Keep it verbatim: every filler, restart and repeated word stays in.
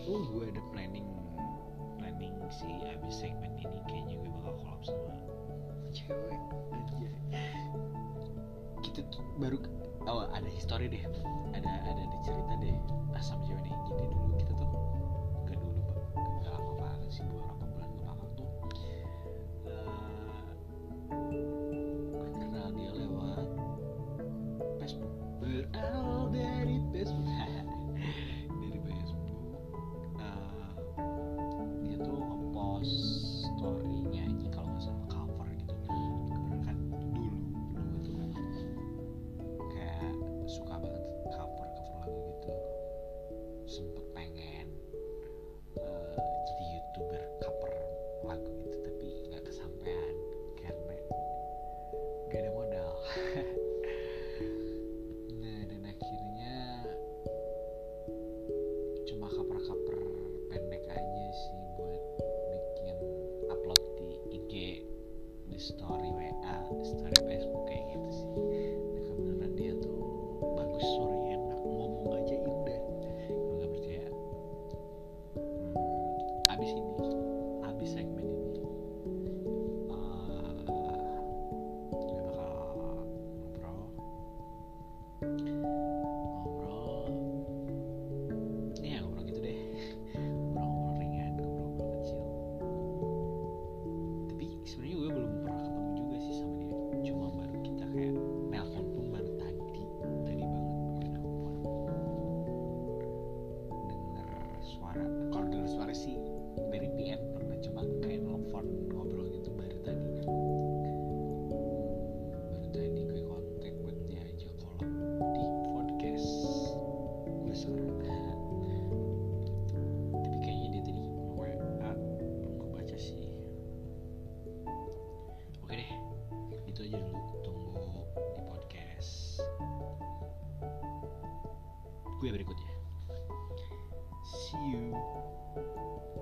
Oh, gue ada planning planning sih abis segmen ini kayaknya gue bakal collab sama cewek aja. Kita tuh baru oh ada history deh, ada ada ada cerita deh ah, sama cewek nih. Jadi dulu kita tuh nggak dulu pak, nggak lama banget sih, beberapa bulan belakang tuh uh, gue kenal dia lewat Facebook, berawal dari Facebook. Dari Facebook uh, dia tuh ngepost story nyanyi kalau nggak salah cover gitu. Kebetulan kan dulu dulu gue tuh memang kayak suka banget cover cover lagu gitu. Sempet pengen uh, jadi youtuber cover lagu gitu, tapi nggak kesampaian karena gak ada modal. Nah dan akhirnya cuma cover-cover pendek aja sih buat bikin upload di I G, di story W A, story Facebook kayak gitu sih. Nah kebenaran dia tuh bagus, suaranya enak, ngomong aja indah. Kalau nggak percaya, hmm, abis ini, abis segmen ini, uh, gue bakal ngobrol, ngobrol, ya ngobrol gitu deh, ngobrol-ngobrol ringan, ngobrol-ngobrol kecil. Tapi sebenarnya gue belum pernah ketemu juga sih sama dia, cuma baru kita kayak nelpon pun baru tadi, tadi banget gue nelpon. Denger suara, kalau denger suara sih dari P M pernah, cuma kayak nelpon ngobrol gitu baru tadi. Baru tadi gue kontak buat dia aja collab di podcast gue sekarang. Tapi kayaknya dia tadi W A gue baca sih. Oke deh, itu aja dulu. Tunggu di podcast gue berikutnya. See you.